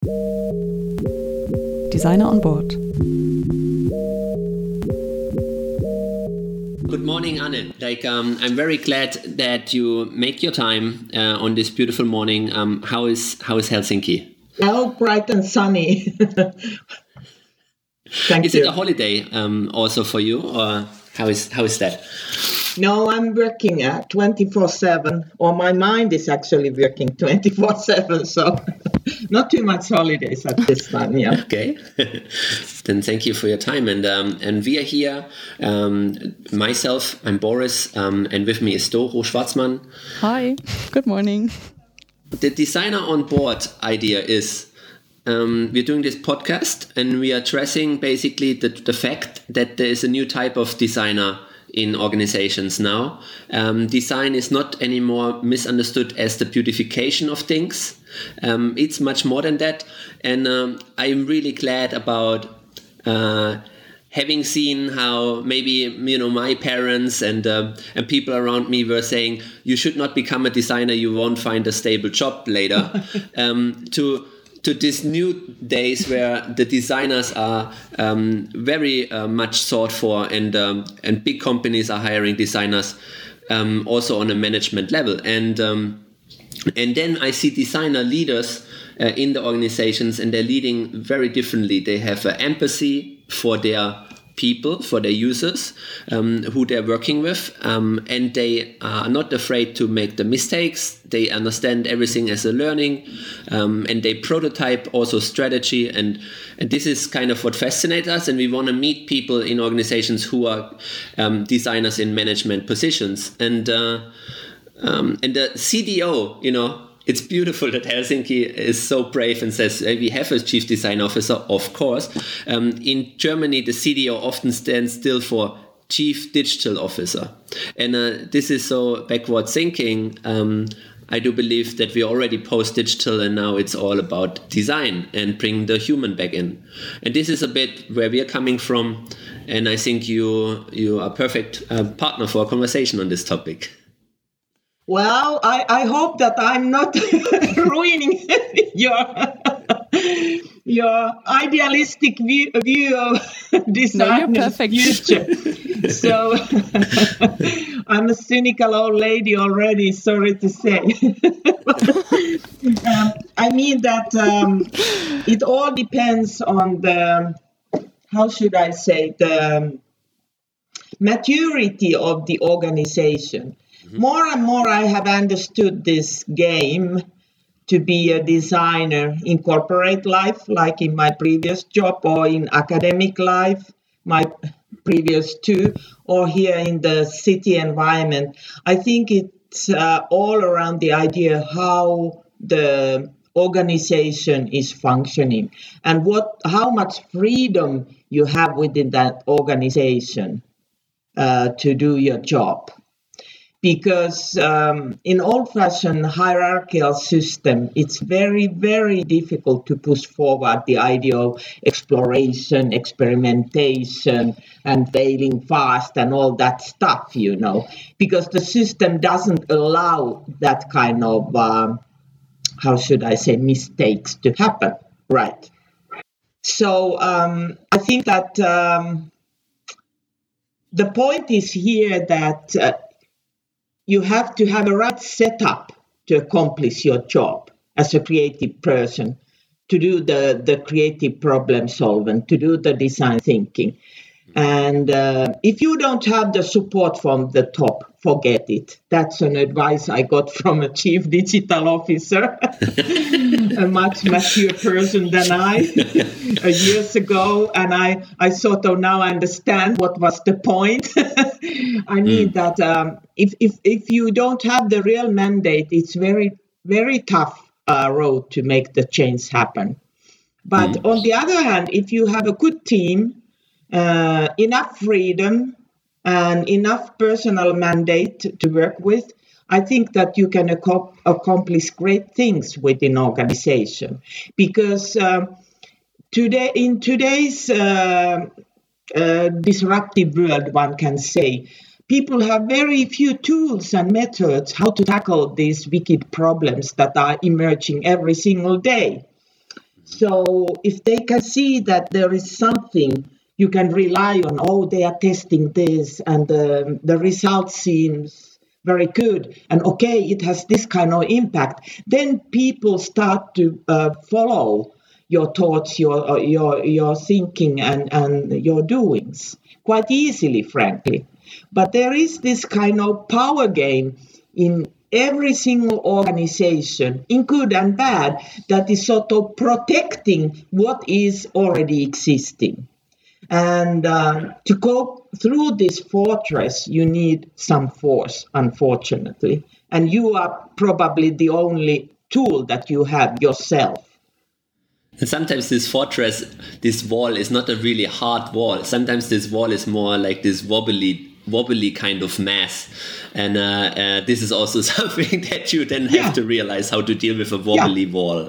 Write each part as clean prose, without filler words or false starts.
Designer on Board. Good morning, Anne. I'm very glad that you make your time on this beautiful morning. How is Helsinki? Oh, bright and sunny. Thank is you. It a holiday also for you, or how is that? No, I'm working 24/7, or my mind is actually working 24/7, so not too much holidays at this time, yeah. Okay, then thank you for your time. And we are here, myself, I'm Boris, and with me is Doro Schwarzmann. Hi, good morning. The Designer on Board idea is we're doing this podcast and we are addressing basically the fact that there is a new type of designer in organizations now. Design is not anymore misunderstood as the beautification of things. It's much more than that. And I'm really glad about having seen how maybe my parents and people around me were saying you should not become a designer, you won't find a stable job later. To these new days where the designers are very much sought for, and big companies are hiring designers also on a management level, and then I see designer leaders in the organizations, and they're leading very differently. They have empathy for their people, for their users who they're working with, and they are not afraid to make the mistakes. They understand everything as a learning, and they prototype also strategy, and this is kind of what fascinates us, and we want to meet people in organizations who are designers in management positions, and the CDO, it's beautiful that Helsinki is so brave and says, hey, we have a chief design officer, of course. In Germany, the CDO often stands still for chief digital officer. And this is so backward thinking. I do believe that we already post-digital and now it's all about design and bring the human back in. And this is a bit where we are coming from. And I think you are a perfect partner for a conversation on this topic. Well, I hope that I'm not ruining your idealistic view of design in the future. So I'm a cynical old lady already, sorry to say. I mean that it all depends on the maturity of the organization. More and more I have understood this game to be a designer in corporate life, like in my previous job, or in academic life, my previous two, or here in the city environment. I think it's all around the idea how the organization is functioning and how much freedom you have within that organization to do your job. Because in old-fashioned hierarchical system, it's very, very difficult to push forward the idea of exploration, experimentation, and failing fast and all that stuff, because the system doesn't allow that kind of, mistakes to happen, right? So I think that the point is here that you have to have a right setup to accomplish your job as a creative person, to do the creative problem solving, to do the design thinking. And if you don't have the support from the top, forget it. That's an advice I got from a chief digital officer, a much mature person than I, years ago. And I sort of now understand what was the point. I mean that if you don't have the real mandate, it's very, very tough road to make the change happen. But on the other hand, if you have a good team, enough freedom and enough personal mandate to work with, I think that you can accomplish great things within organization. Because in today's disruptive world, one can say, people have very few tools and methods how to tackle these wicked problems that are emerging every single day. So if they can see that there is something you can rely on, oh, they are testing this and the result seems very good, and okay, it has this kind of impact, then people start to follow your thoughts, your thinking and your doings quite easily, frankly. But there is this kind of power game in every single organization, in good and bad, that is sort of protecting what is already existing. And to go through this fortress, you need some force, unfortunately. And you are probably the only tool that you have yourself. And sometimes this fortress, this wall is not a really hard wall. Sometimes this wall is more like this wobbly kind of mass. And this is also something that you then have to realize how to deal with a wobbly wall.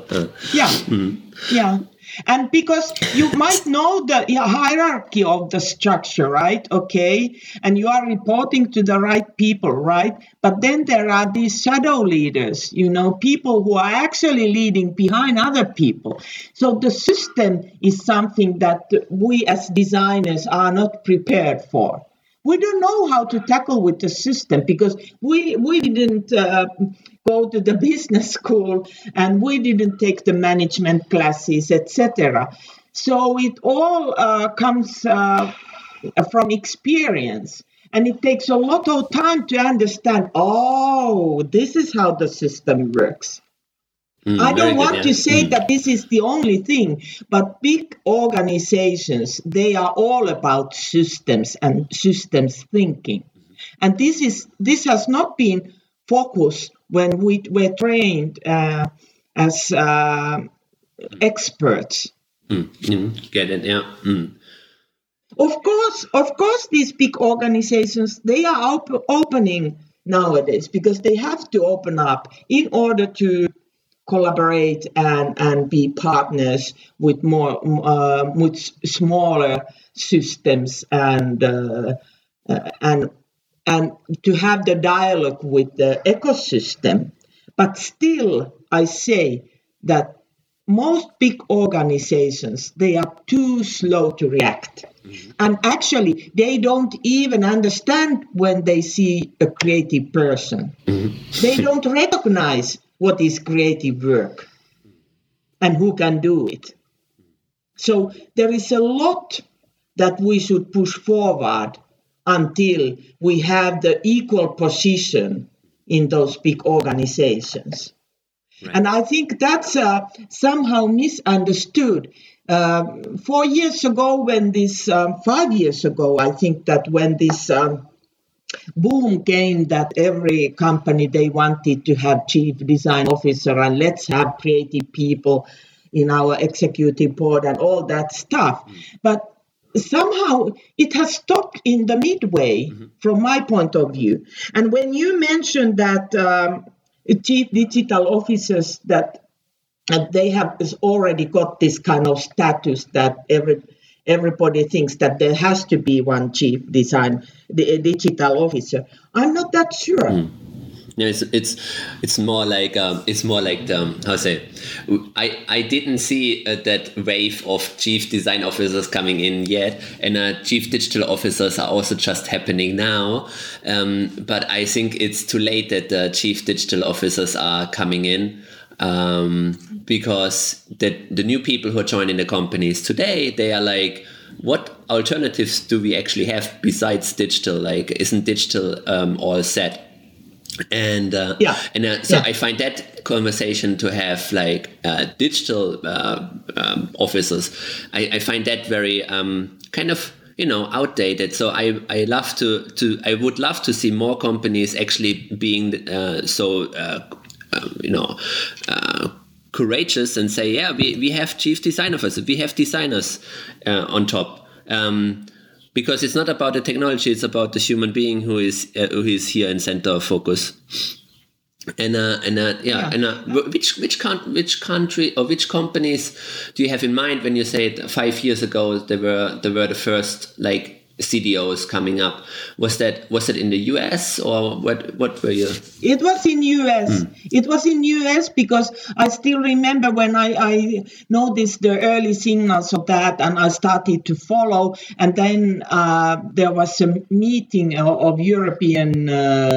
Yeah. And because you might know the hierarchy of the structure, right? Okay. And you are reporting to the right people, right? But then there are these shadow leaders, people who are actually leading behind other people. So the system is something that we as designers are not prepared for. We don't know how to tackle with the system because we didn't go to the business school and we didn't take the management classes, etc. So it all comes from experience, and it takes a lot of time to understand, this is how the system works. I don't want to say that this is the only thing, but big organizations, they are all about systems and systems thinking. And this has not been focused when we were trained as experts. Get it, yeah. Of course, these big organizations, they are opening nowadays because they have to open up in order to collaborate and be partners with with smaller systems and to have the dialogue with the ecosystem. But still, I say that most big organizations, they are too slow to react. Mm-hmm. And actually, they don't even understand when they see a creative person. Mm-hmm. They don't recognize what is creative work and who can do it. So there is a lot that we should push forward until we have the equal position in those big organizations. Right. And I think that's somehow misunderstood. 4 years ago, when this, 5 years ago, I think that when this boom came that every company, they wanted to have chief design officer and let's have creative people in our executive board and all that stuff. But somehow it has stopped in the midway from my point of view. And when you mentioned that chief digital officers, that they have already got this kind of status that everybody thinks that there has to be one chief digital officer. I'm not that sure. Yeah, it's more like I didn't see that wave of chief design officers coming in yet, and chief digital officers are also just happening now. But I think it's too late that the chief digital officers are coming in. Because the new people who are joining the companies today, they are like, what alternatives do we actually have besides digital? Like, isn't digital all set? And I find that conversation to have like digital officers, I find that very kind of outdated. So I would love to see more companies actually being courageous and say, we have chief design officers, we have designers on top, because it's not about the technology, it's about the human being who is here in center of focus. Which country or which companies do you have in mind when you say 5 years ago they were the first like CDOs coming up. Was that in the US or what were you? It was in US. It was in US because I still remember when I noticed the early signals of that, and I started to follow. And then there was a meeting of European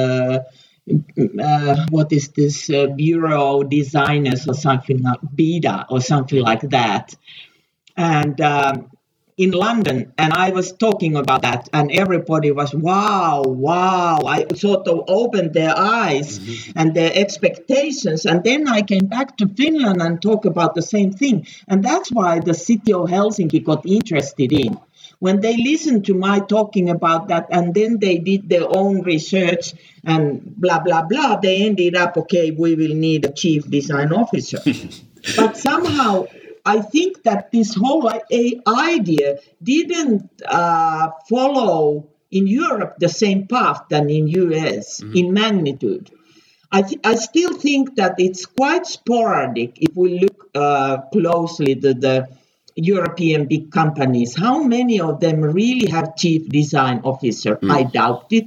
what is this Bureau Designers or something like BIDA or something like that, and in London, and I was talking about that, and everybody was wow. I sort of opened their eyes and their expectations, and then I came back to Finland and talked about the same thing, and that's why the city of Helsinki got interested in. When they listened to my talking about that, and then they did their own research and blah, blah, blah, they ended up, okay, we will need a chief design officer. But somehow, I think that this whole idea didn't follow in Europe the same path than in US in magnitude. I still think that it's quite sporadic if we look closely to the European big companies. How many of them really have chief design officer? I doubt it.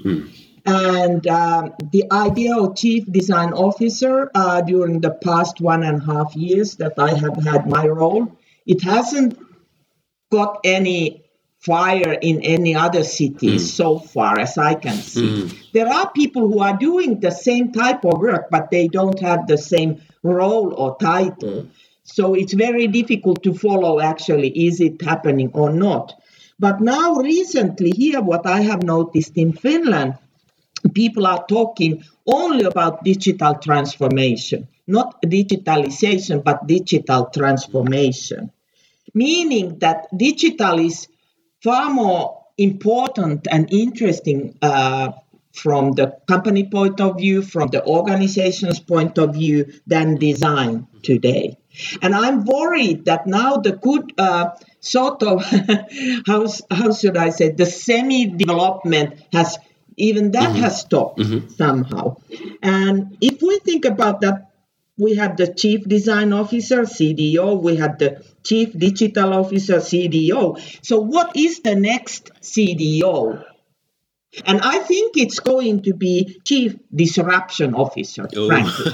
And the idea of chief design officer during the past 1.5 years that I have had my role, it hasn't got any fire in any other cities so far as I can see. There are people who are doing the same type of work, but they don't have the same role or title. So it's very difficult to follow actually, is it happening or not? But now recently here, what I have noticed in Finland, people are talking only about digital transformation, not digitalization, but digital transformation. Meaning that digital is far more important and interesting from the company point of view, from the organization's point of view, than design today. And I'm worried that now the good sort of, how should I say, the semi-development has, even that has stopped somehow. And if we think about that, we have the chief design officer, CDO, we have the chief digital officer, CDO. So what is the next CDO? And I think it's going to be chief disruption officer, frankly.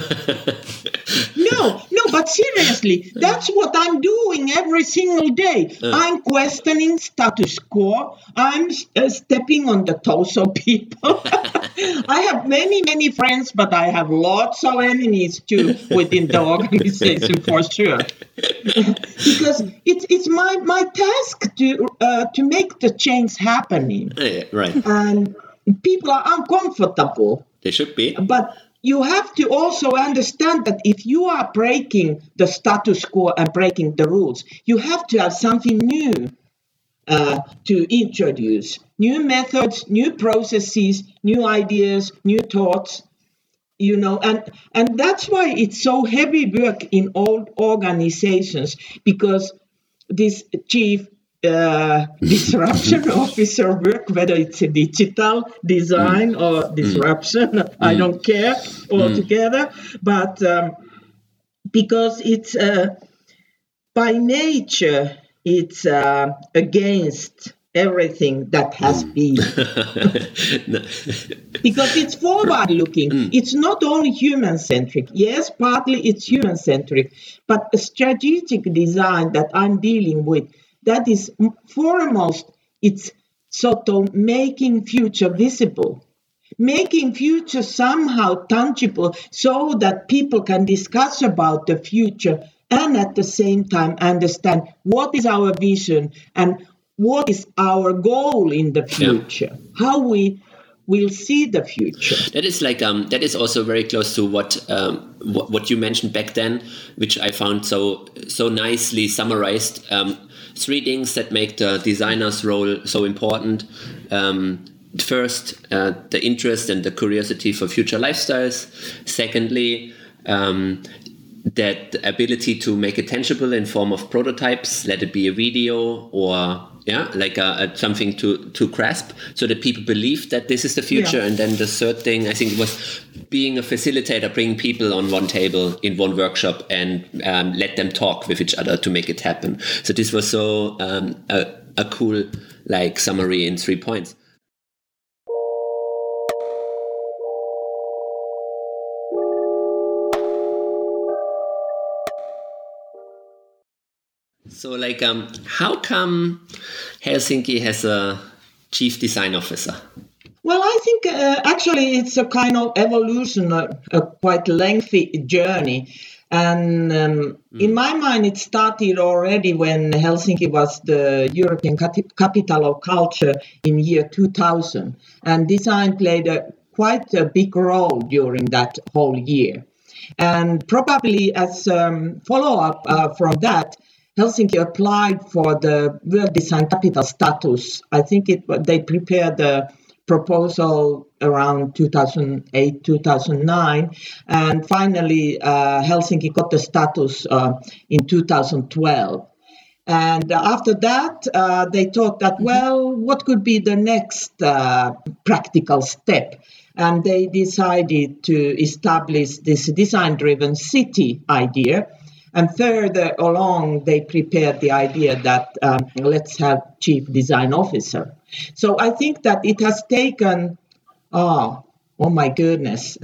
No, but seriously, that's what I'm doing every single day. I'm questioning status quo. I'm stepping on the toes of people. I have many, many friends, but I have lots of enemies too within the organization for sure. Because it's my task to make the change happening. Right. And people are uncomfortable. They should be. But you have to also understand that if you are breaking the status quo and breaking the rules, you have to have something new to introduce. New methods, new processes, new ideas, new thoughts, and that's why it's so heavy work in old organizations, because this chief disruption officer work, whether it's a digital design or disruption, I don't care altogether, but because it's by nature, it's against everything that has been. Because it's forward-looking. It's not only human-centric. Yes, partly it's human-centric, but a strategic design that I'm dealing with, that is foremost, it's sort of making future visible, making future somehow tangible so that people can discuss about the future and at the same time understand what is our vision and what is our goal in the future, how we will see the future. That is like that is also very close to what you mentioned back then, which I found so nicely summarized. 3 things that make the designer's role so important. First, the interest and the curiosity for future lifestyles. Secondly, that ability to make it tangible in form of prototypes, let it be a video or something to grasp, so that people believe that this is the future. And then the third thing, I think, it was being a facilitator, bringing people on one table in one workshop and let them talk with each other to make it happen. So this was so a cool like summary in 3 points. So, like, how come Helsinki has a chief design officer? Well, I think actually it's a kind of evolution, a quite lengthy journey. And in my mind, it started already when Helsinki was the European capital of culture in year 2000. And design played quite a big role during that whole year. And probably as follow-up from that, Helsinki applied for the World Design Capital status. I think they prepared the proposal around 2008, 2009. And finally, Helsinki got the status in 2012. And after that, they thought that, well, what could be the next practical step? And they decided to establish this design-driven city idea. And further along, they prepared the idea that let's have chief design officer. So I think that it has taken, oh my goodness,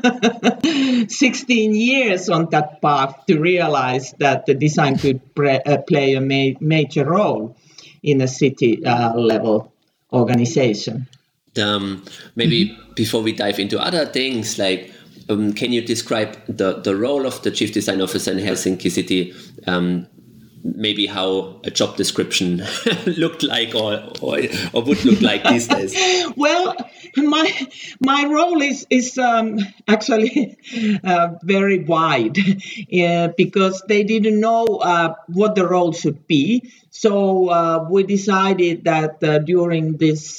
16 years on that path to realize that the design could play a major role in a city level organization. Maybe before we dive into other things, like, can you describe the role of the Chief Design Officer in Helsinki City? Maybe how a job description looked like or would look like these days? Well, my role is actually very wide because they didn't know what the role should be. So we decided that during this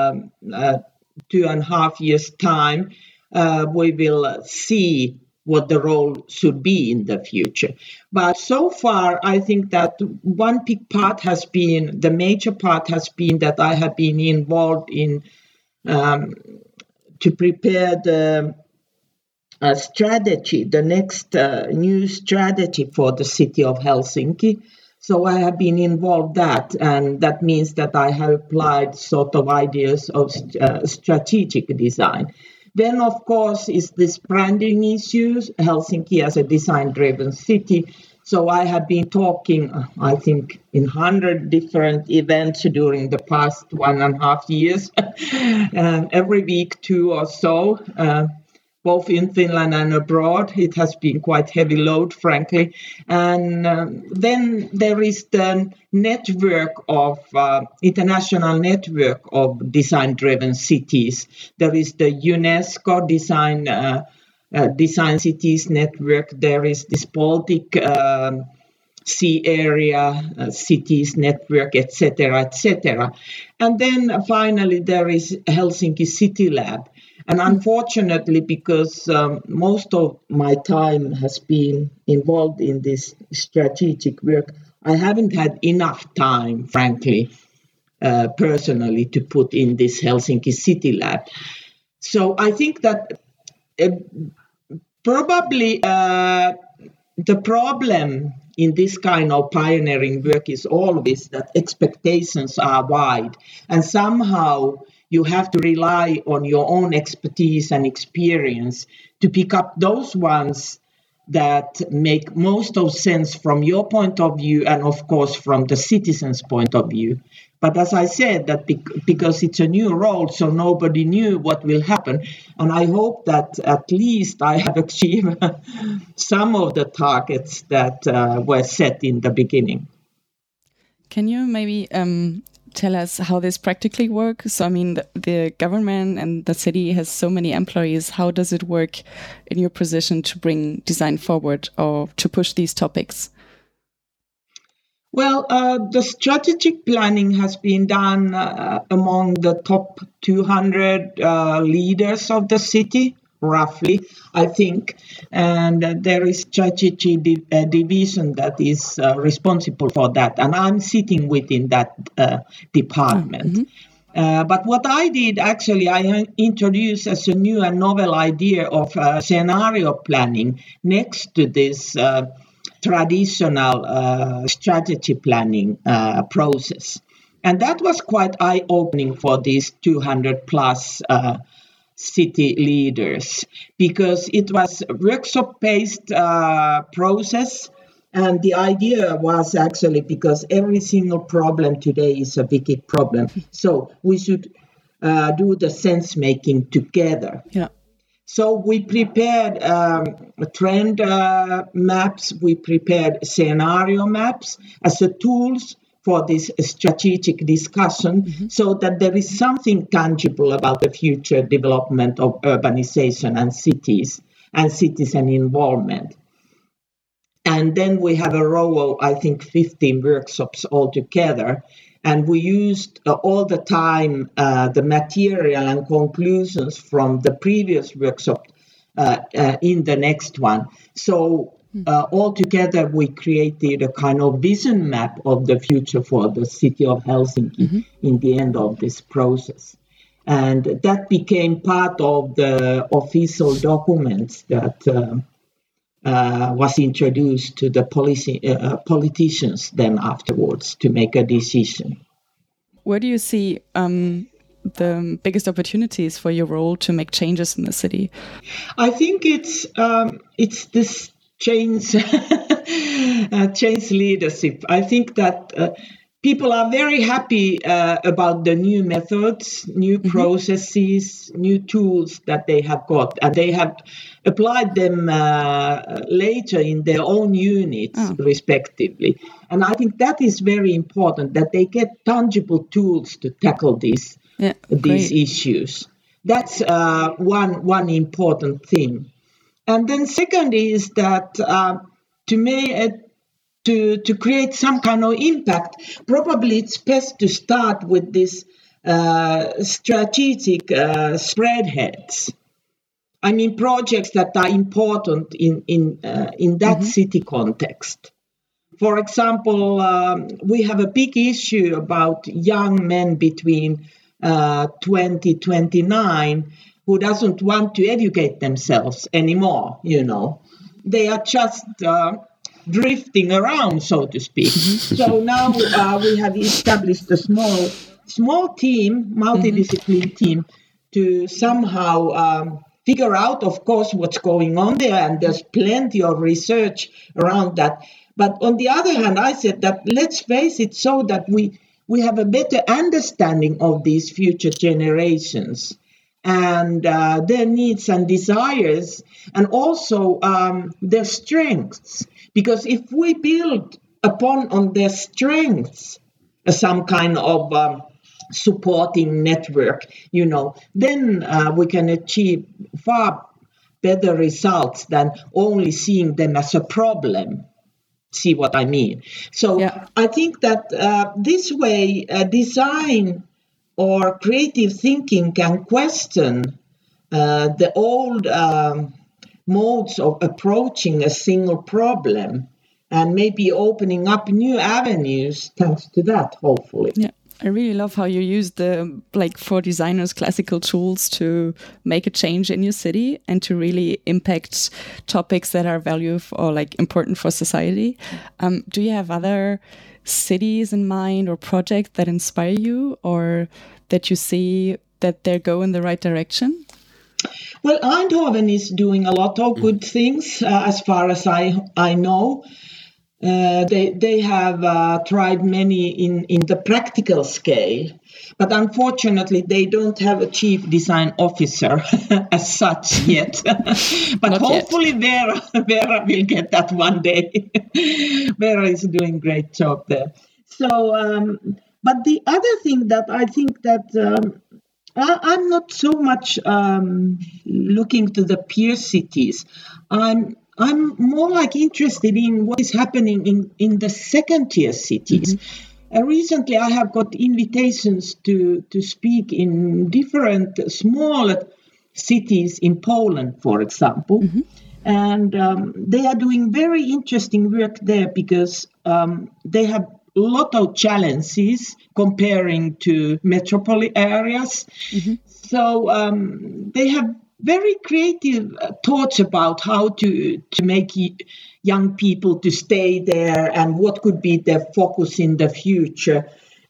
2.5 years' time, we will see what the role should be in the future. But so far, I think that one big part has been, the major part has been that I have been involved in to prepare the strategy, the next new strategy for the city of Helsinki. So I have been involved that, and that means that I have applied sort of ideas of strategic design. Then, of course, is this branding issues, Helsinki as a design-driven city. So I have been talking, I think, in 100 different events during the past 1.5 years, every week, 2 or so, both in Finland and abroad. It has been quite heavy load, frankly. And then there is the network of international network of design-driven cities. There is the UNESCO Design Cities Network. There is this Baltic Sea Area Cities Network, etc., etc. And then finally there is Helsinki City Lab. And unfortunately, because most of my time has been involved in this strategic work, I haven't had enough time, frankly, personally, to put in this Helsinki City Lab. So I think that probably the problem in this kind of pioneering work is always that expectations are wide, and somehow you have to rely on your own expertise and experience to pick up those ones that make most of sense from your point of view and, of course, from the citizen's point of view. But as I said, that because it's a new role, so nobody knew what will happen. And I hope that at least I have achieved some of the targets that were set in the beginning. Can you maybe tell us how this practically works? So, I mean, the government and the city has so many employees. How does it work in your position to bring design forward or to push these topics? Well, the strategic planning has been done among the top 200 leaders of the city, roughly, I think. And there is strategy division that is responsible for that. And I'm sitting within that department. But what I did, actually, I introduced as a new and novel idea of scenario planning next to this traditional strategy planning process. And that was quite eye-opening for these 200 plus city leaders, because it was a workshop-based process. And the idea was actually, because every single problem today is a big problem, so we should do the sense making together. Yeah. So we prepared trend maps, we prepared scenario maps as a tools for this strategic discussion, so that there is something tangible about the future development of urbanization and cities and citizen involvement. And then we have a row of, I think, 15 workshops altogether. And we used all the time the material and conclusions from the previous workshop in the next one. So altogether, we created a kind of vision map of the future for the city of Helsinki in the end of this process. And that became part of the official documents that was introduced to the politicians then afterwards to make a decision. Where do you see the biggest opportunities for your role to make changes in the city? I think it's this change leadership. I think that people are very happy about the new methods, new processes, new tools that they have got, and they have applied them later in their own units, respectively. And I think that is very important, that they get tangible tools to tackle these issues. That's one important thing. And then second is that to create some kind of impact, probably it's best to start with this strategic spreadheads. I mean, projects that are important in that city context. For example, we have a big issue about young men between 29 who doesn't want to educate themselves anymore, They are just drifting around, so to speak. So now we have established a small team, multidisciplinary team, to somehow figure out, of course, what's going on there. And there's plenty of research around that. But on the other hand, I said that let's face it, so that we have a better understanding of these future generations and their needs and desires, and also their strengths. Because if we build on their strengths, some kind of supporting network, then we can achieve far better results than only seeing them as a problem. See what I mean? So I think that this way, design or creative thinking can question the old modes of approaching a single problem, and maybe opening up new avenues thanks to that, hopefully. Yeah, I really love how you use for designers, classical tools to make a change in your city and to really impact topics that are important for society. Do you have other cities in mind or projects that inspire you, or that you see that they go in the right direction? Well, Eindhoven is doing a lot of good things, as far as I know. They have tried many in the practical scale, but unfortunately they don't have a chief design officer as such yet. But Not hopefully Vera will get that one day. Vera is doing a great job there. So, but the other thing that I think that I'm not so much looking to the peer cities. I'm more interested in what is happening in the second-tier cities. Recently, I have got invitations to speak in different small cities in Poland, for example. And they are doing very interesting work there because they have a lot of challenges comparing to metropolitan areas. So they have very creative thoughts about how to make young people to stay there and what could be their focus in the future.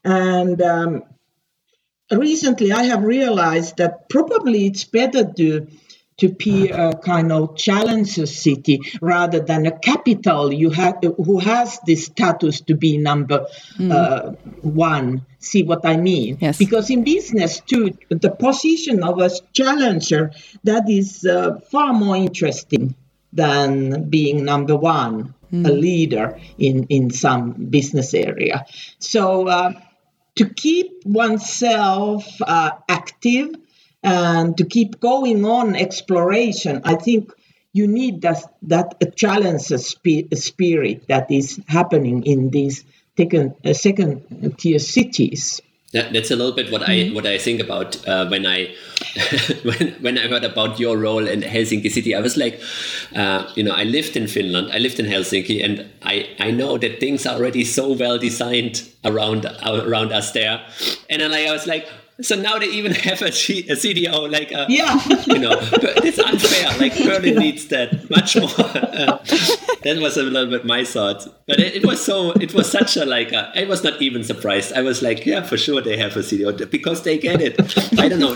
And recently I have realized that probably it's better to be a kind of challenger city rather than a capital who has this status to be number one. See what I mean? Yes. Because in business too, the position of a challenger, that is far more interesting than being number one, a leader in some business area. So to keep oneself active and to keep going on exploration, I think you need that challenger spirit that is happening in these second tier cities. That's a little bit what I think about when I when I heard about your role in Helsinki city. I was like, I lived in Finland, I lived in Helsinki, and I know that things are already so well designed around us there, and then I was like, so now they even have a CDO, like, it's unfair. Like Berlin needs that much more. That was a little bit my thought, but it was such a I was not even surprised. I was like, yeah, for sure they have a CDO because they get it. I don't know,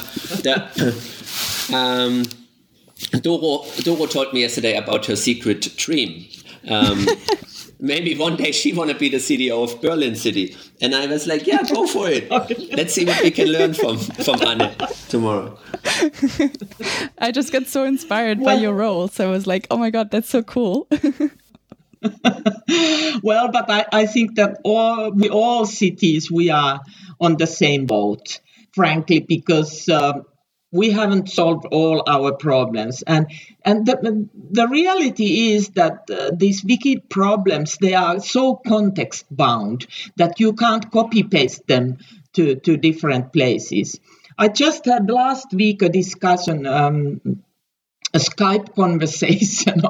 Doro told me yesterday about her secret dream. Maybe one day she want to be the CDO of Berlin City. And I was like, yeah, go for it. Let's see what we can learn from Anne tomorrow. I just got so inspired by your role. So I was like, oh my God, that's so cool. Well, but I think that all cities, we are on the same boat, frankly, because we haven't solved all our problems. And the reality is that these wicked problems, they are so context bound that you can't copy paste them to different places. I just had last week a discussion, a Skype conversation,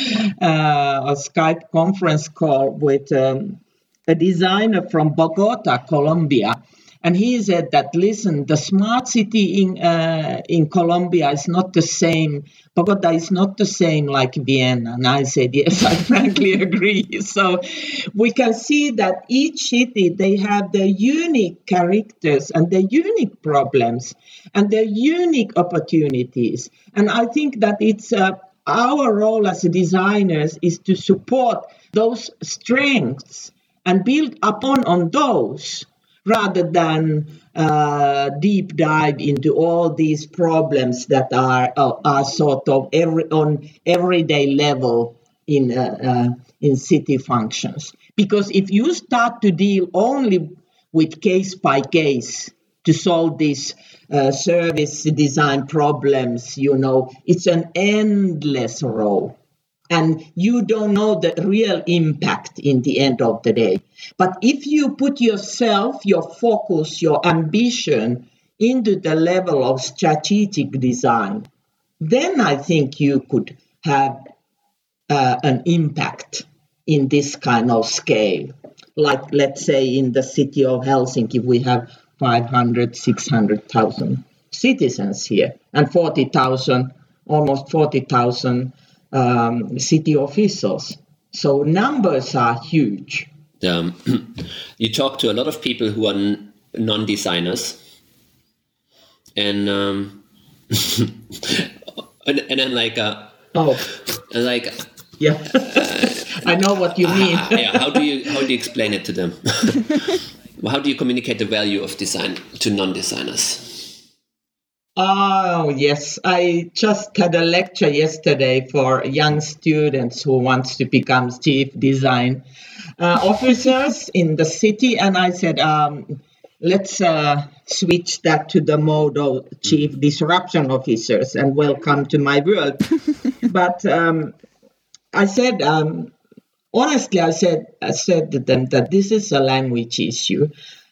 a Skype conference call with a designer from Bogota, Colombia. And he said that, listen, the smart city in Colombia is not the same. Bogota is not the same like Vienna. And I said, yes, I frankly agree. So we can see that each city, they have their unique characters and their unique problems and their unique opportunities. And I think that it's our role as designers is to support those strengths and build upon on those, rather than deep dive into all these problems that are sort of on everyday level in city functions. Because if you start to deal only with case by case to solve these service design problems, it's an endless row. And you don't know the real impact in the end of the day. But if you put yourself, your focus, your ambition into the level of strategic design, then I think you could have an impact in this kind of scale. Like, let's say, in the city of Helsinki, we have 500, 600,000 citizens here and almost 40,000 city officials. So numbers are huge. You talk to a lot of people who are non-designers, and then yeah, I know what you mean. How do you explain it to them? How do you communicate the value of design to non-designers? Oh, yes. I just had a lecture yesterday for young students who want to become chief design officers in the city. And I said, let's switch that to the mode of chief disruption officers and welcome to my world. But I said, honestly, I said to them that this is a language issue.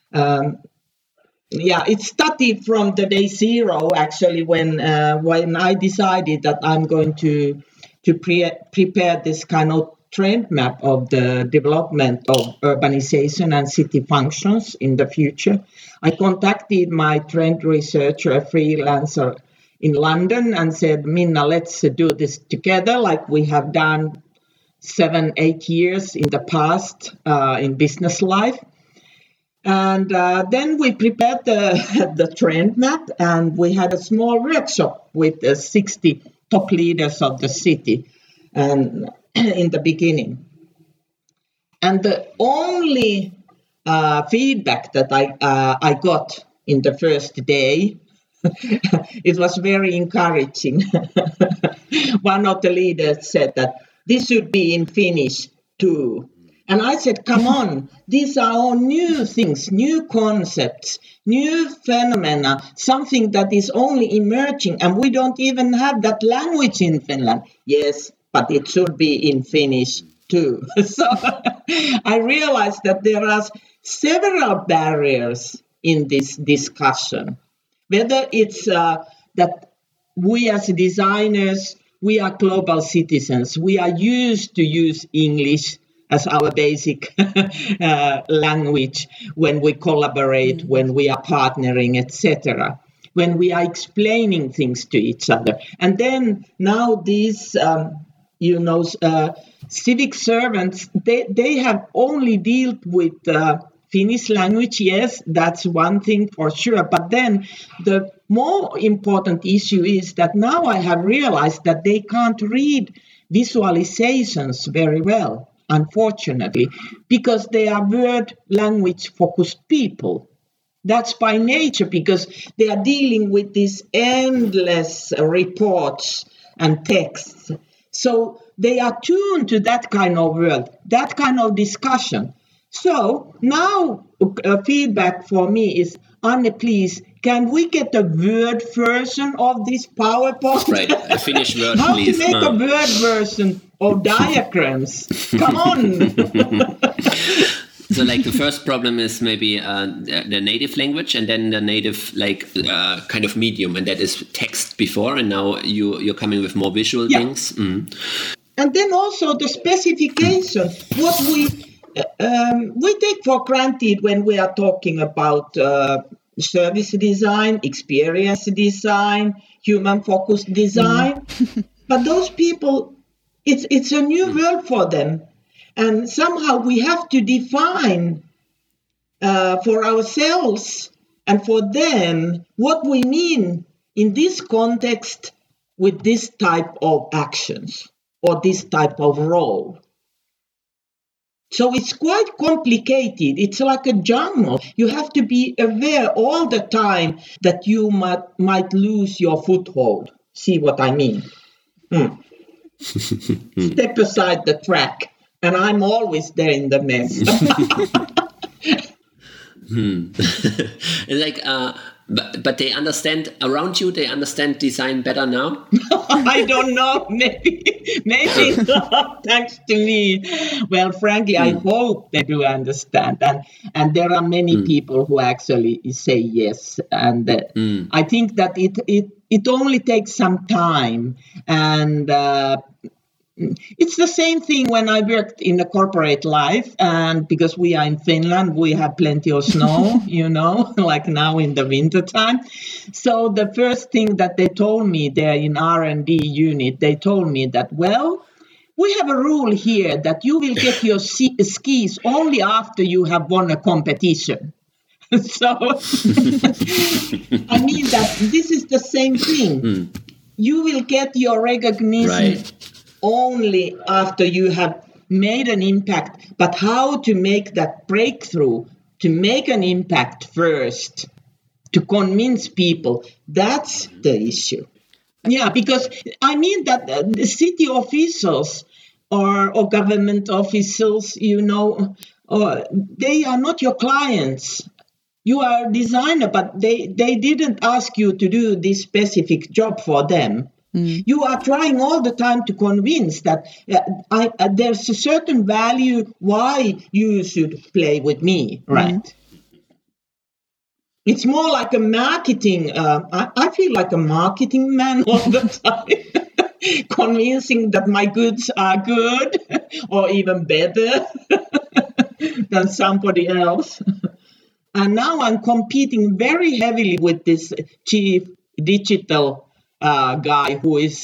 It started from the day zero, actually, when I decided that I'm going to prepare this kind of trend map of the development of urbanization and city functions in the future. I contacted my trend researcher, a freelancer in London, and said, Minna, let's do this together like we have done 7-8 years in the past in business life. And then we prepared the trend map, and we had a small workshop with 60 top leaders of the city and in the beginning. And the only feedback that I got in the first day, it was very encouraging. One of the leaders said that this should be in Finnish too. And I said, come on, these are all new things, new concepts, new phenomena, something that is only emerging, and we don't even have that language in Finland. Yes, but it should be in Finnish too. So I realized that there are several barriers in this discussion, whether it's that we as designers, we are global citizens, we are used to use English as our basic language when we collaborate, when we are partnering, etc., when we are explaining things to each other. And then now these, civic servants, they have only dealt with Finnish language. Yes, that's one thing for sure. But then the more important issue is that now I have realized that they can't read visualizations very well, unfortunately, because they are word language focused people. That's by nature, because they are dealing with these endless reports and texts. So they are tuned to that kind of world, that kind of discussion. So now feedback for me is, Anne, please, can we get a Word version of this PowerPoint? Right, a Finnish word, How please. to make a Word version of diagrams? Come on. So like the first problem is maybe the native language, and then the native kind of medium, and that is text before, and now you're coming with more visual things. Mm. And then also the specification, what we take for granted when we are talking about service design, experience design, human-focused design. But those people, it's a new world for them. And somehow we have to define for ourselves and for them what we mean in this context with this type of actions or this type of role. So it's quite complicated. It's like a jungle. You have to be aware all the time that you might lose your foothold. See what I mean? Step aside the track. And I'm always there in the mess. But they understand around you. They understand design better now. I don't know. Maybe not. Thanks to me. Well, frankly, I hope they do understand. And there are many people who actually say yes. And I think that it only takes some time. And it's the same thing when I worked in the corporate life, and because we are in Finland, we have plenty of snow, like now in the wintertime. So the first thing that they told me there in R&D unit, they told me that, well, we have a rule here that you will get your skis only after you have won a competition. So, I mean that this is the same thing. You will get your recognition only after you have made an impact, but how to make that breakthrough, to make an impact first, to convince people, that's the issue. Yeah, because I mean that the city officials or government officials, they are not your clients. You are a designer, but they didn't ask you to do this specific job for them. You are trying all the time to convince that there's a certain value why you should play with me, right? It's more like a marketing. I feel like a marketing man all the time, convincing that my goods are good or even better than somebody else. And now I'm competing very heavily with this chief digital guy who is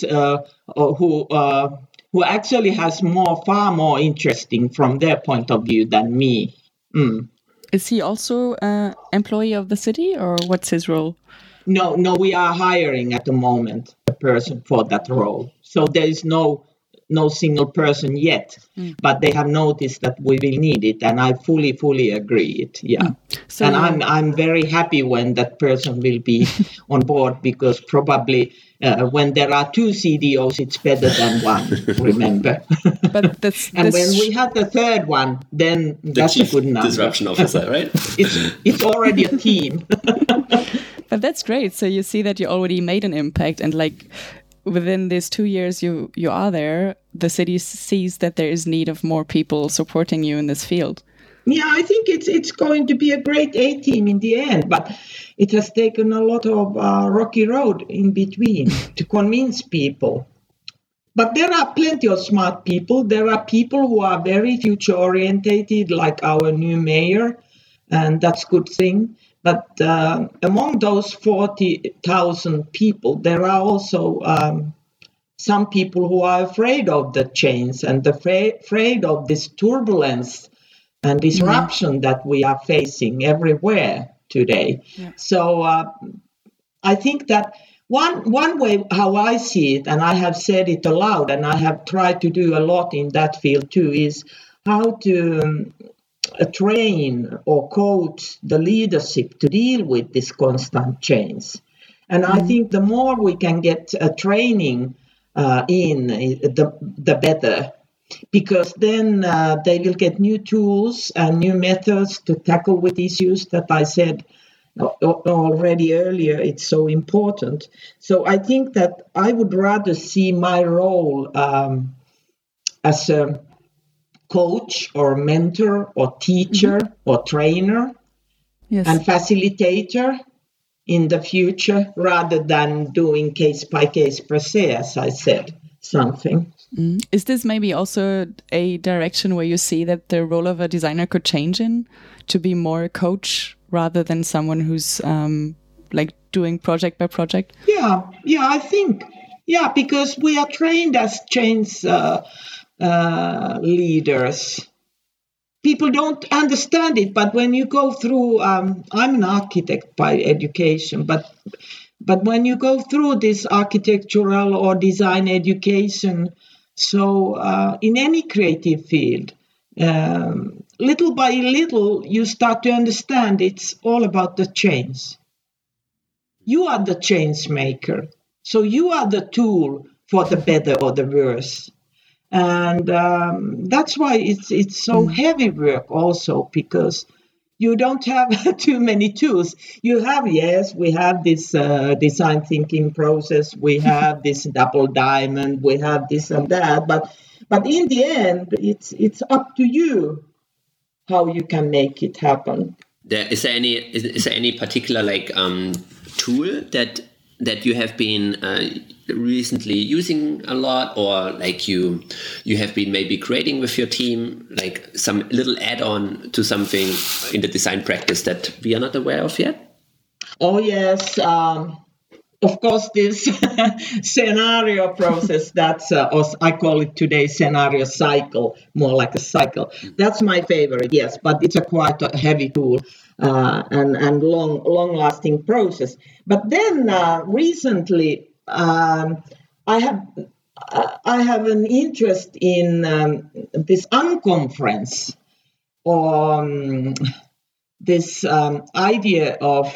who actually has far more interesting from their point of view than me. Is he also an employee of the city, or what's his role? No, we are hiring at the moment a person for that role. So there is no single person yet, but they have noticed that we will need it, and I fully agree it. Yeah. So and I'm very happy when that person will be on board, because probably when there are two CDOs, it's better than one, remember? But when we have the third one, then that's a good number. Disruption officer, right? It's already a team. But that's great. So you see that you already made an impact, and like within these 2 years you are there, the city sees that there is need of more people supporting you in this field. Yeah, I think it's going to be a great A-team in the end, but it has taken a lot of rocky road in between to convince people. But there are plenty of smart people. There are people who are very future-orientated, like our new mayor, and that's a good thing. But among those 40,000 people, there are also some people who are afraid of the change and afraid of this turbulence and disruption that we are facing everywhere today. Yeah. So I think that one way how I see it, and I have said it aloud, and I have tried to do a lot in that field too, is how to train or coach the leadership to deal with this constant change. And I think the more we can get training the better, because then they will get new tools and new methods to tackle with issues that I said already earlier. It's so important. So I think that I would rather see my role as a coach or mentor or teacher or trainer and facilitator in the future, rather than doing case by case per se, as I said, something. Is this maybe also a direction where you see that the role of a designer could change in, to be more a coach rather than someone who's like doing project by project? Yeah, I think, because we are trained as change leaders. People don't understand it, but when you go through, I'm an architect by education, but when you go through this architectural or design education, so in any creative field, little by little, you start to understand it's all about the change. You are the change maker, so you are the tool for the better or the worse. And that's why it's so heavy work also, because you don't have too many tools. You have, we have this design thinking process, we have this double diamond, we have this and that, but in the end, it's up to you how you can make it happen. Is there any particular tool that you have been recently using a lot, or like you have been maybe creating with your team, like some little add-on to something in the design practice that we are not aware of yet? Oh yes, of course, this scenario process, that's I call it today scenario cycle, more like a cycle. That's my favorite, yes, but it's a quite a heavy tool and long-lasting process. But then recently, I have an interest in this unconference, or this idea of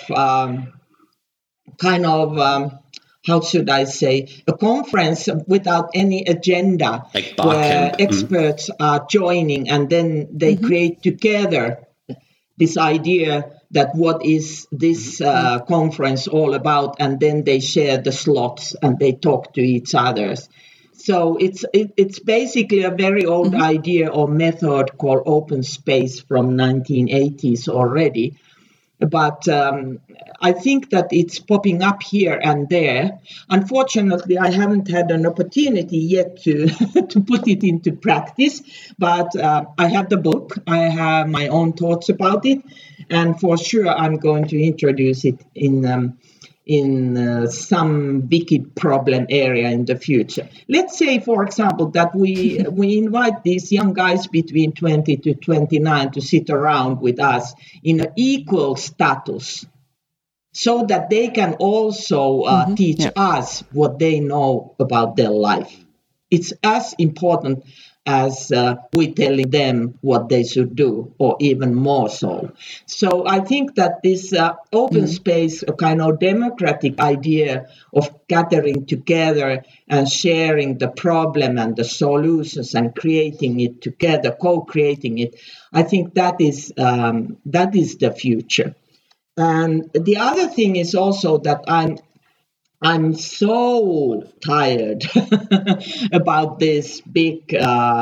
how should I say, a conference without any agenda, like where experts are joining, and then they create together this idea that what is this conference all about, and then they share the slots and they talk to each other. So it's basically a very old idea or method called open space from 1980s already. But I think that it's popping up here and there. Unfortunately, I haven't had an opportunity yet to put it into practice, but I have the book. I have my own thoughts about it, and for sure I'm going to introduce it in in some wicked problem area in the future. Let's say, for example, that we invite these young guys between 20 to 29 to sit around with us in an equal status, so that they can also teach us what they know about their life. It's as important as we telling them what they should do, or even more so. So I think that this open space, a kind of democratic idea of gathering together and sharing the problem and the solutions and creating it together, co-creating it, I think that is the future. And the other thing is also that I'm so tired about these big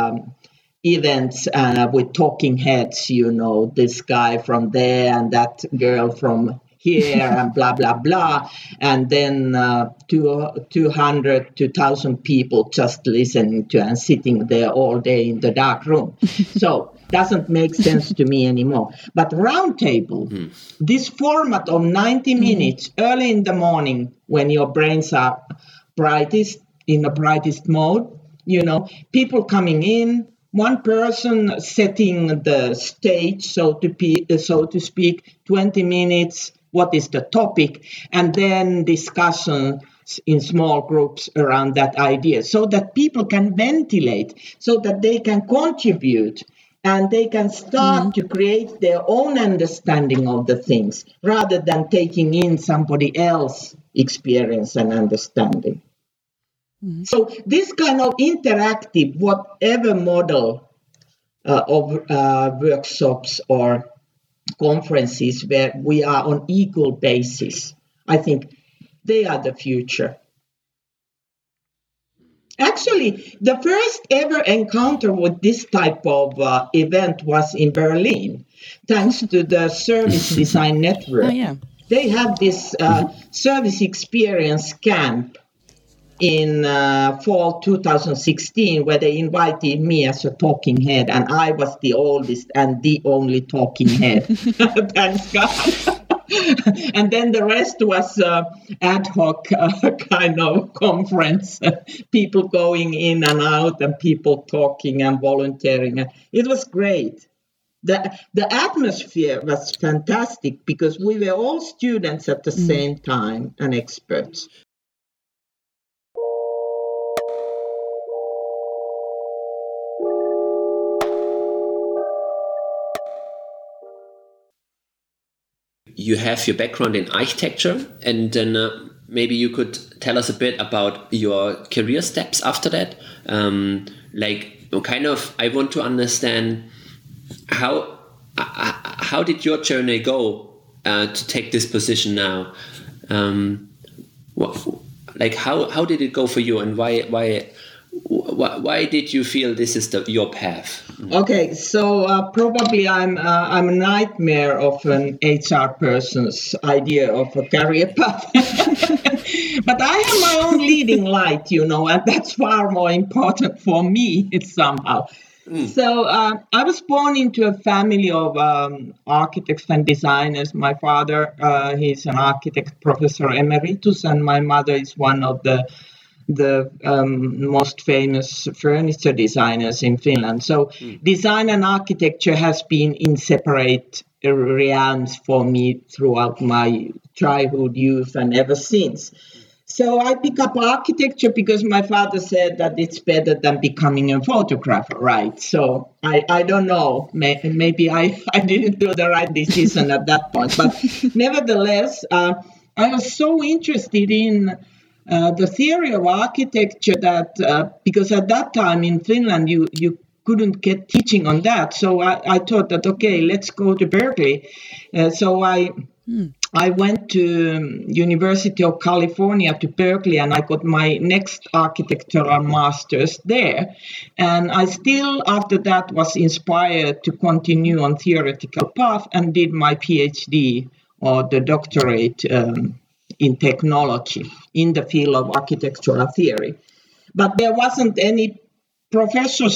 events with talking heads, this guy from there and that girl from here and blah, blah, blah. And then 200 to 1,000 people just listening to and sitting there all day in the dark room. So doesn't make sense to me anymore. But roundtable, this format of 90 minutes early in the morning when your brains are brightest, in the brightest mode, people coming in, one person setting the stage, so to speak, 20 minutes, what is the topic, and then discussion in small groups around that idea, so that people can ventilate, so that they can contribute, and they can start to create their own understanding of the things, rather than taking in somebody else's experience and understanding. So this kind of interactive, whatever model of workshops or conferences where we are on equal basis, I think they are the future. Actually, the first ever encounter with this type of event was in Berlin, thanks to the Service Design Network. Oh, yeah. They have this service experience camp in fall 2016, where they invited me as a talking head, and I was the oldest and the only talking head. Thanks God. And then the rest was ad hoc kind of conference, people going in and out and people talking and volunteering. It was great. The atmosphere was fantastic because we were all students at the same time and experts. You have your background in architecture, and then maybe you could tell us a bit about your career steps after that. I want to understand how did your journey go to take this position now? How did it go for you, and why did you feel this is your path? Okay, so probably I'm a nightmare of an HR person's idea of a career path. But I have my own leading light, and that's far more important for me somehow. So I was born into a family of architects and designers. My father, he's an architect, professor emeritus, and my mother is one of the most famous furniture designers in Finland. So design and architecture has been in separate realms for me throughout my childhood, youth, and ever since. So I pick up architecture because my father said that it's better than becoming a photographer, right? So I don't know, maybe I didn't do the right decision at that point. But nevertheless, I was so interested in the theory of architecture that because at that time in Finland you couldn't get teaching on that, so I thought that okay, let's go to Berkeley. So I went to University of California to Berkeley, and I got my next architectural master's there. And I still after that was inspired to continue on theoretical path and did my PhD or the doctorate in technology in the field of architectural theory. But there wasn't any professorship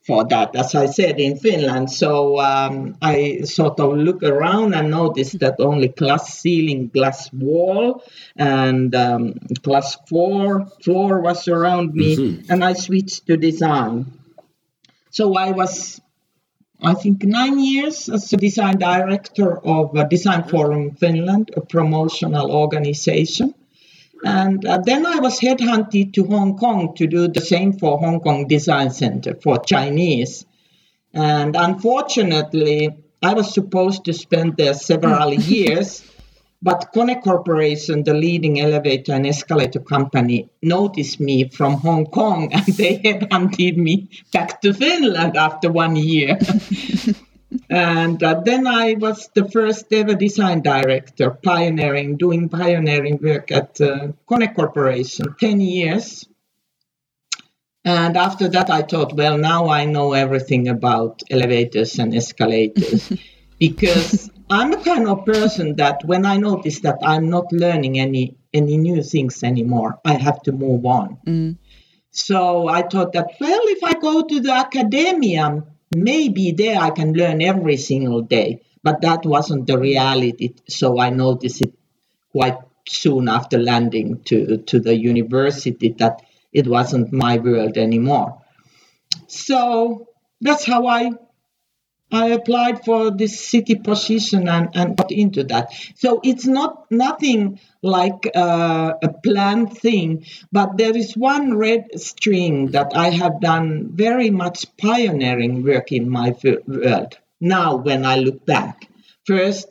for that, as I said, in Finland. So I sort of look around and noticed that only glass ceiling, glass wall, and glass floor was around me, and I switched to design. So I was, I think, 9 years as a design director of Design Forum Finland, a promotional organization. And then I was headhunted to Hong Kong to do the same for Hong Kong Design Center for Chinese. And unfortunately, I was supposed to spend there several years, but Kone Corporation, the leading elevator and escalator company, noticed me from Hong Kong, and they headhunted me back to Finland after 1 year. And then I was the first ever design director, doing pioneering work at Kone Corporation, 10 years. And after that, I thought, well, now I know everything about elevators and escalators, because I'm a kind of person that when I notice that I'm not learning any new things anymore, I have to move on. So I thought that, well, if I go to the academia, maybe there I can learn every single day, but that wasn't the reality. So I noticed it quite soon after landing to the university that it wasn't my world anymore. So that's how I applied for this city position and got into that. So it's nothing like a planned thing, but there is one red string that I have done very much pioneering work in my world. Now, when I look back, first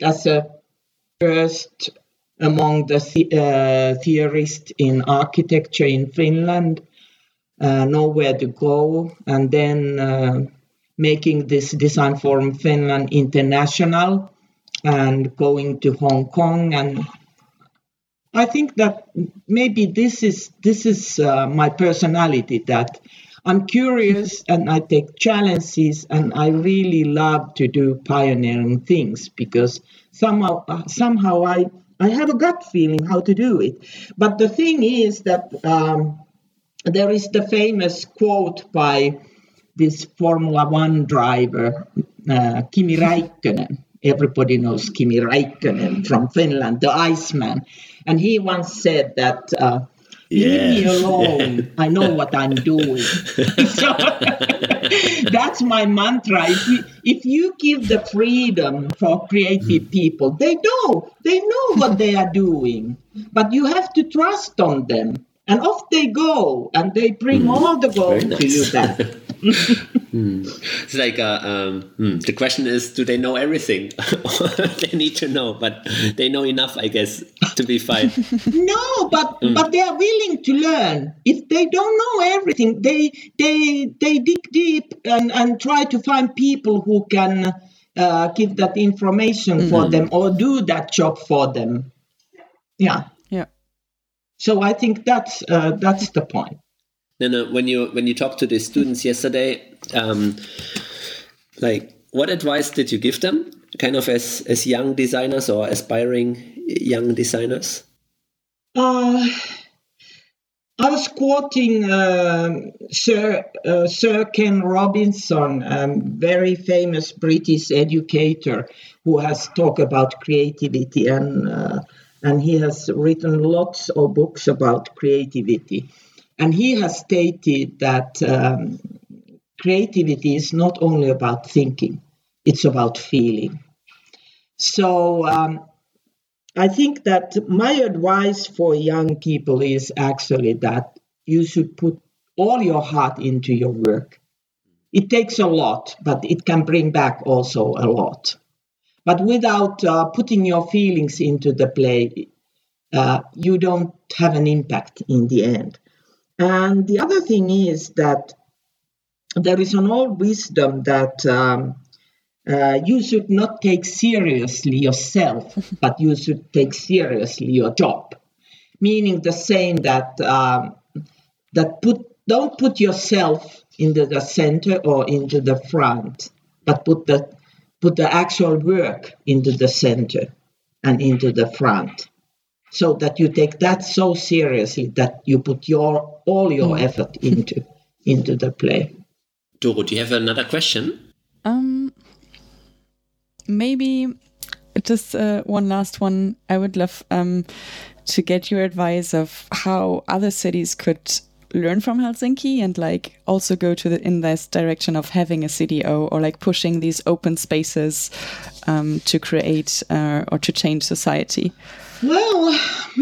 among the theorists in architecture in Finland, Nowhere to Go, and then making this Design Forum Finland international and going to Hong Kong. And I think that maybe this is my personality, that I'm curious and I take challenges, and I really love to do pioneering things because somehow I have a gut feeling how to do it. But the thing is that there is the famous quote by this Formula One driver, Kimi Räikkönen. Everybody knows Kimi Räikkönen from Finland, the Iceman. And he once said that, leave me alone, I know what I'm doing. So that's my mantra. If you give the freedom for creative people, they know what they are doing, but you have to trust on them. And off they go, and they bring all the gold to you back. It's like the question is, do they know everything? They need to know, but they know enough, I guess, to be fine. No, but they are willing to learn. If they don't know everything, they dig deep and try to find people who can give that information for them or do that job for them. Yeah. So I think that's the point. No. When you talked to the students yesterday, like what advice did you give them, kind of as young designers or aspiring young designers? I was quoting Sir Ken Robinson, a very famous British educator who has talked about creativity, and he has written lots of books about creativity. And he has stated that creativity is not only about thinking, it's about feeling. So I think that my advice for young people is actually that you should put all your heart into your work. It takes a lot, but it can bring back also a lot. But without putting your feelings into the play, you don't have an impact in the end. And the other thing is that there is an old wisdom that you should not take seriously yourself, but you should take seriously your job. Meaning the saying that don't put yourself into the center or into the front, but put the actual work into the center and into the front, so that you take that so seriously that you put all your effort into the play. Doro, do you have another question? Maybe just one last one. I would love to get your advice of how other cities could learn from Helsinki and like also go in this direction of having a CDO or like pushing these open spaces to create or to change society. Well,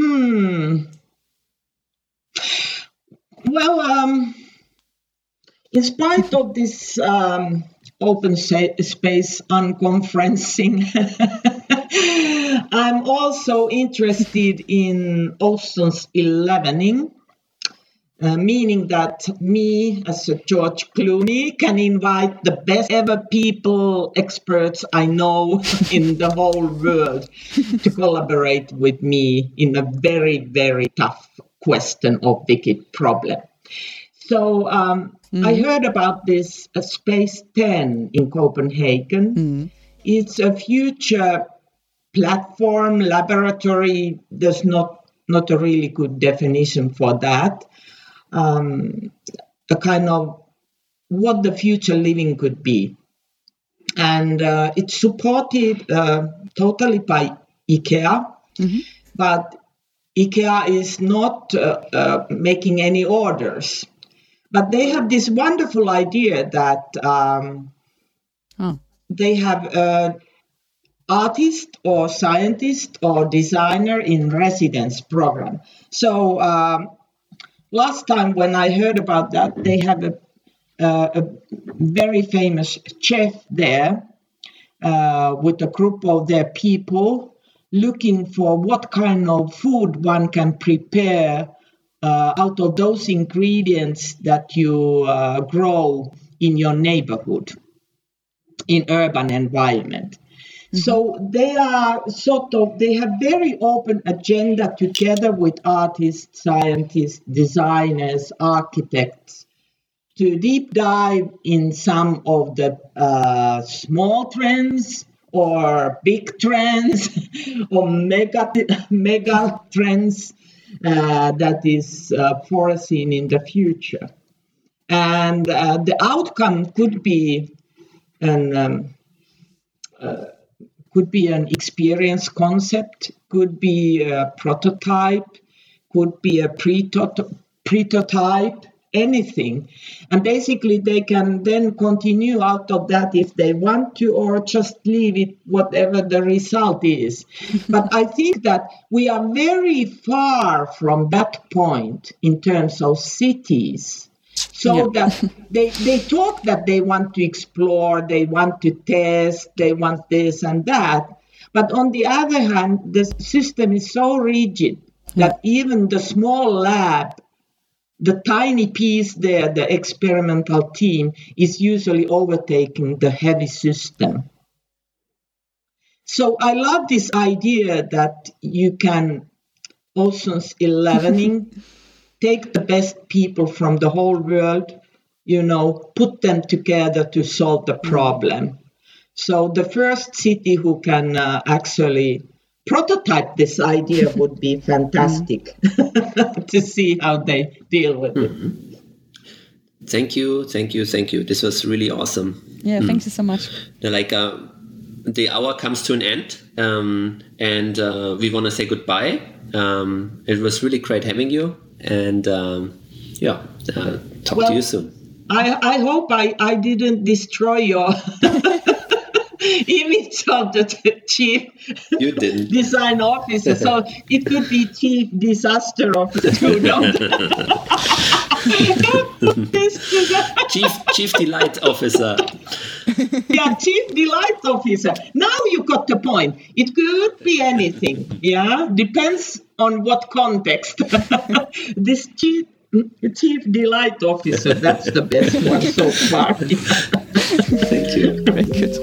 in spite of this open space unconferencing, I'm also interested in Ocean's 11ing, meaning that me as a George Clooney can invite the best ever people, experts I know in the whole world to collaborate with me in a very, very tough question of wicked problem. So I heard about this Space 10 in Copenhagen. It's a future platform, laboratory. There's not a really good definition for that. A kind of what the future living could be. And it's supported totally by IKEA, but IKEA is not making any orders. But they have this wonderful idea that they have artist or scientist or designer in residence program. So last time when I heard about that, they have a very famous chef there with a group of their people looking for what kind of food one can prepare out of those ingredients that you grow in your neighborhood, in urban environment. So they are they have very open agenda together with artists, scientists, designers, architects to deep dive in some of the small trends or big trends or mega trends that is foreseen in the future. And the outcome could be an experience concept, could be a prototype, could be a prototype, anything. And basically they can then continue out of that if they want to, or just leave it whatever the result is. But I think that we are very far from that point in terms of cities. So that they talk that they want to explore, they want to test, they want this and that. But on the other hand, the system is so rigid that even the small lab, the tiny piece there, the experimental team, is usually overtaking the heavy system. So I love this idea that you can Ocean's 11ing, take the best people from the whole world, put them together to solve the problem. So the first city who can actually prototype this idea would be fantastic to see how they deal with it. Thank you. This was really awesome. Yeah, thank you so much. The hour comes to an end, and we want to say goodbye. It was really great having you. And talk to you soon. I hope I didn't destroy your image of the chief design officer. So it could be chief disaster officer. Chief delight officer. Yeah, chief delight officer. Now you got the point. It could be anything. Yeah, depends on what context. This chief delight officer, that's the best one so far. Thank you. Very good.